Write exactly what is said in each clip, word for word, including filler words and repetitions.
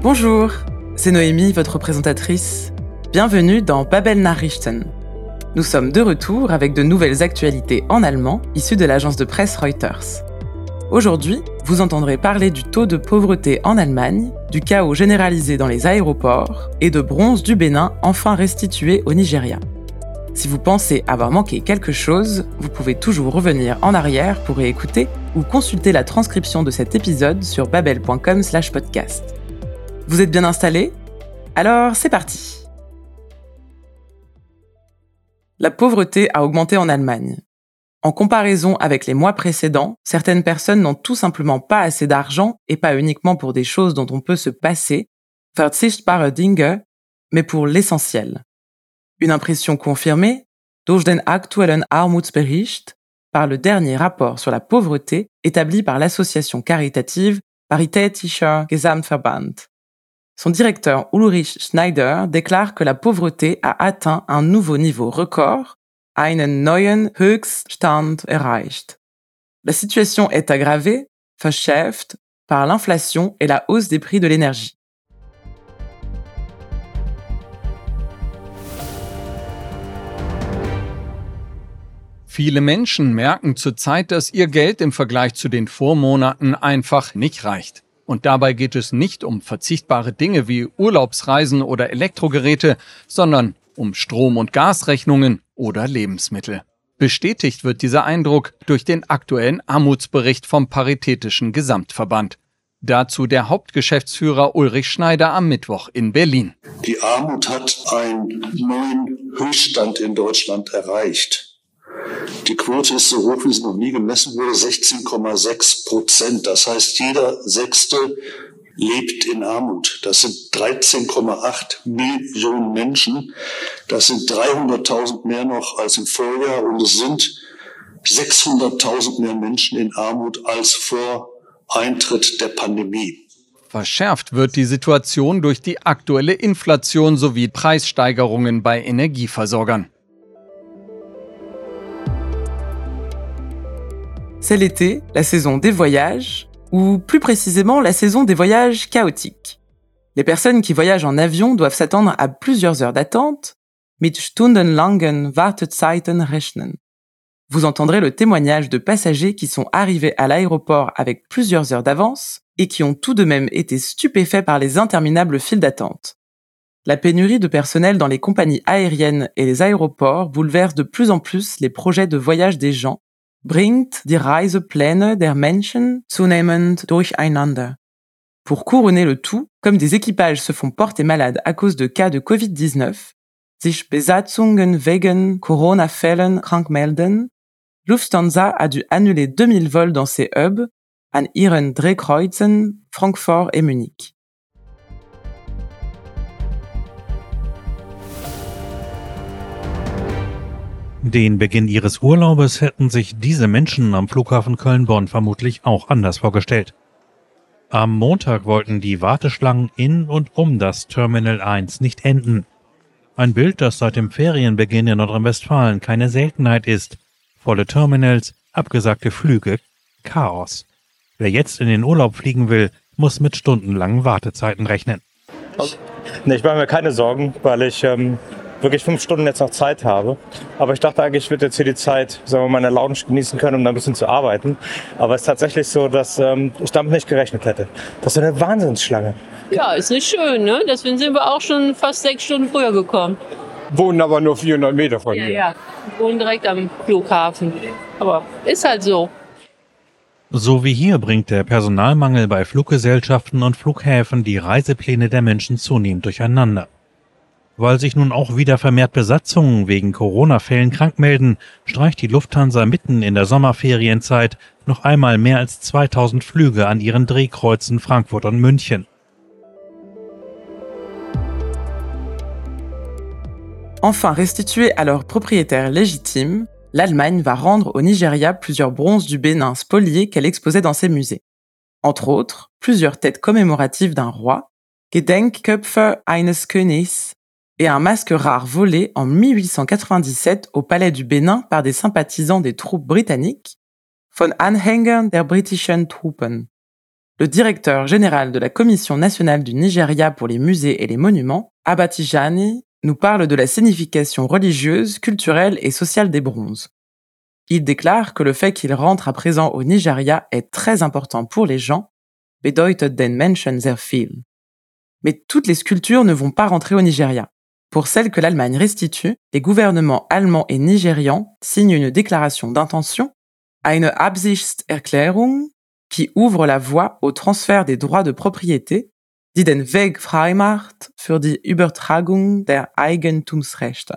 Bonjour, c'est Noémie, votre présentatrice. Bienvenue dans Babel Nachrichten. Nous sommes de retour avec de nouvelles actualités en allemand issues de l'agence de presse Reuters. Aujourd'hui, vous entendrez parler du taux de pauvreté en Allemagne, du chaos généralisé dans les aéroports et de bronze du Bénin enfin restitué au Nigeria. Si vous pensez avoir manqué quelque chose, vous pouvez toujours revenir en arrière pour réécouter ou consulter la transcription de cet épisode sur babel point com slash podcast. Vous êtes bien installés ? Alors, c'est parti ! La pauvreté a augmenté en Allemagne. En comparaison avec les mois précédents, certaines personnes n'ont tout simplement pas assez d'argent et pas uniquement pour des choses dont on peut se passer, verzichtbare Dinge, mais pour l'essentiel. Une impression confirmée, durch den aktuellen Armutsbericht, par le dernier rapport sur la pauvreté établi par l'association caritative Paritätischer Gesamtverband. Son directeur Ulrich Schneider déclare que la pauvreté a atteint un nouveau niveau record, einen neuen Höchststand erreicht. La situation est aggravée, verschärft, par l'inflation et la hausse des prix de l'énergie. Viele Menschen merken zurzeit, dass ihr Geld im Vergleich zu den Vormonaten einfach nicht reicht. Und dabei geht es nicht um verzichtbare Dinge wie Urlaubsreisen oder Elektrogeräte, sondern um Strom- und Gasrechnungen oder Lebensmittel. Bestätigt wird dieser Eindruck durch den aktuellen Armutsbericht vom Paritätischen Gesamtverband. Dazu der Hauptgeschäftsführer Ulrich Schneider am Mittwoch in Berlin. Die Armut hat einen neuen Höchststand in Deutschland erreicht. Die Quote ist so hoch, wie sie noch nie gemessen wurde, sechzehn Komma sechs Prozent. Das heißt, jeder Sechste lebt in Armut. Das sind dreizehn Komma acht Millionen Menschen. Das sind dreihunderttausend mehr noch als im Vorjahr und es sind sechshunderttausend mehr Menschen in Armut als vor Eintritt der Pandemie. Verschärft wird die Situation durch die aktuelle Inflation sowie Preissteigerungen bei Energieversorgern. C'est l'été, la saison des voyages, ou plus précisément la saison des voyages chaotiques. Les personnes qui voyagent en avion doivent s'attendre à plusieurs heures d'attente, mit stundenlangen Wartezeiten rechnen. Vous entendrez le témoignage de passagers qui sont arrivés à l'aéroport avec plusieurs heures d'avance et qui ont tout de même été stupéfaits par les interminables files d'attente. La pénurie de personnel dans les compagnies aériennes et les aéroports bouleverse de plus en plus les projets de voyage des gens, bringt die Reisepläne der Menschen zunehmend durcheinander. Pour couronner le tout, comme des équipages se font porter malades à cause de cas de covid dix-neuf, sich Besatzungen wegen Corona-Fällen krank melden, Lufthansa a dû annuler deux mille vols dans ses hubs, an ihren Drehkreuzen, Francfort et Munich. Den Beginn ihres Urlaubes hätten sich diese Menschen am Flughafen Köln-Bonn vermutlich auch anders vorgestellt. Am Montag wollten die Warteschlangen in und um das Terminal eins nicht enden. Ein Bild, das seit dem Ferienbeginn in Nordrhein-Westfalen keine Seltenheit ist. Volle Terminals, abgesagte Flüge, Chaos. Wer jetzt in den Urlaub fliegen will, muss mit stundenlangen Wartezeiten rechnen. Nee, ich mache mir keine Sorgen, weil ich ähm, wirklich fünf Stunden jetzt noch Zeit habe. Aber ich dachte eigentlich, ich würde jetzt hier die Zeit, sagen wir mal, in der Lounge genießen können, um da ein bisschen zu arbeiten. Aber es ist tatsächlich so, dass ähm, ich damit nicht gerechnet hätte. Das ist eine Wahnsinnsschlange. Ja, ist nicht schön, ne? Deswegen sind wir auch schon fast sechs Stunden früher gekommen. Wohnen aber nur vierhundert Meter von Ja, hier. ja, wir wohnen direkt am Flughafen. Aber ist halt so. So wie hier bringt der Personalmangel bei Fluggesellschaften und Flughäfen die Reisepläne der Menschen zunehmend durcheinander. Weil sich nun auch wieder vermehrt Besatzungen wegen Corona-Fällen krank melden, streicht die Lufthansa mitten in der Sommerferienzeit noch einmal mehr als zweitausend Flüge an ihren Drehkreuzen Frankfurt und München. Enfin restituée à leurs propriétaires légitimes, l'Allemagne va rendre au Nigeria plusieurs bronzes du Bénin spoliés qu'elle exposait dans ses musées. Entre autres, plusieurs têtes commémoratives d'un roi, Gedenkköpfe eines Königs, et un masque rare volé en dix-huit cent quatre-vingt-dix-sept au palais du Bénin par des sympathisants des troupes britanniques, von Anhängern der britischen Truppen. Le directeur général de la Commission nationale du Nigeria pour les musées et les monuments, Abba Tijani, nous parle de la signification religieuse, culturelle et sociale des bronzes. Il déclare que le fait qu'il rentre à présent au Nigeria est très important pour les gens, bedeutet den Menschen sehr viel. Mais toutes les sculptures ne vont pas rentrer au Nigeria. Pour celles que l'Allemagne restitue, les gouvernements allemands et nigérians signent une déclaration d'intention, eine Absichtserklärung, qui ouvre la voie au transfert des droits de propriété, die den Weg frei macht für die Übertragung der Eigentumsrechte.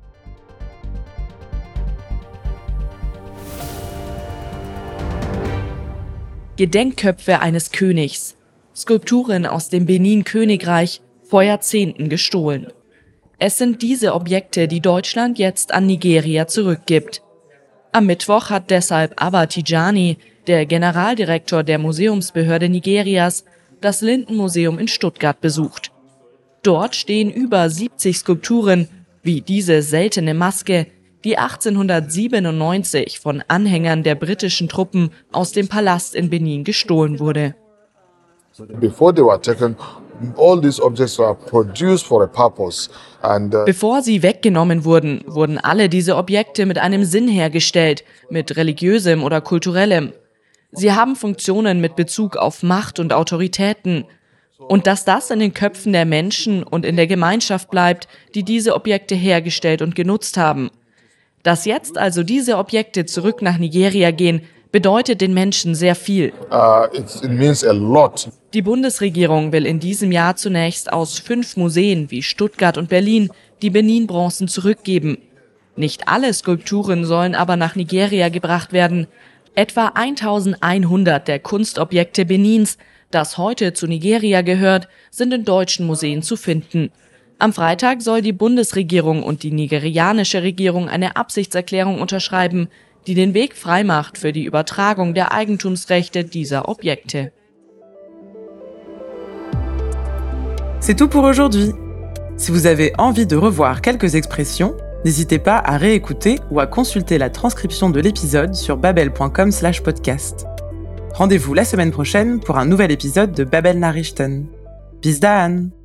Gedenkköpfe eines Königs, Skulpturen aus dem Benin-Königreich, vor Jahrzehnten gestohlen. Es sind diese Objekte, die Deutschland jetzt an Nigeria zurückgibt. Am Mittwoch hat deshalb Abba Tijani, der Generaldirektor der Museumsbehörde Nigerias, das Lindenmuseum in Stuttgart besucht. Dort stehen über siebzig Skulpturen, wie diese seltene Maske, die achtzehnhundertsiebenundneunzig von Anhängern der britischen Truppen aus dem Palast in Benin gestohlen wurde. Before they were taken, all these objects were produced for a purpose. And, uh Bevor sie weggenommen wurden, wurden alle diese Objekte mit einem Sinn hergestellt, mit religiösem oder kulturellem. Sie haben Funktionen mit Bezug auf Macht und Autoritäten. Und dass das in den Köpfen der Menschen und in der Gemeinschaft bleibt, die diese Objekte hergestellt und genutzt haben. Dass jetzt also diese Objekte zurück nach Nigeria gehen, bedeutet den Menschen sehr viel. Uh, it, it means a lot. Die Bundesregierung will in diesem Jahr zunächst aus fünf Museen wie Stuttgart und Berlin die Benin-Bronzen zurückgeben. Nicht alle Skulpturen sollen aber nach Nigeria gebracht werden. Etwa eintausendeinhundert der Kunstobjekte Benins, das heute zu Nigeria gehört, sind in deutschen Museen zu finden. Am Freitag soll die Bundesregierung und die nigerianische Regierung eine Absichtserklärung unterschreiben, die den Weg freimacht für die Übertragung der Eigentumsrechte dieser Objekte. C'est tout pour aujourd'hui. Si vous avez envie de revoir quelques expressions, n'hésitez pas à réécouter ou à consulter la transcription de l'épisode sur babel point com slash podcast. Rendez-vous la semaine prochaine pour un nouvel épisode de Babel Nachrichten. Bis dann!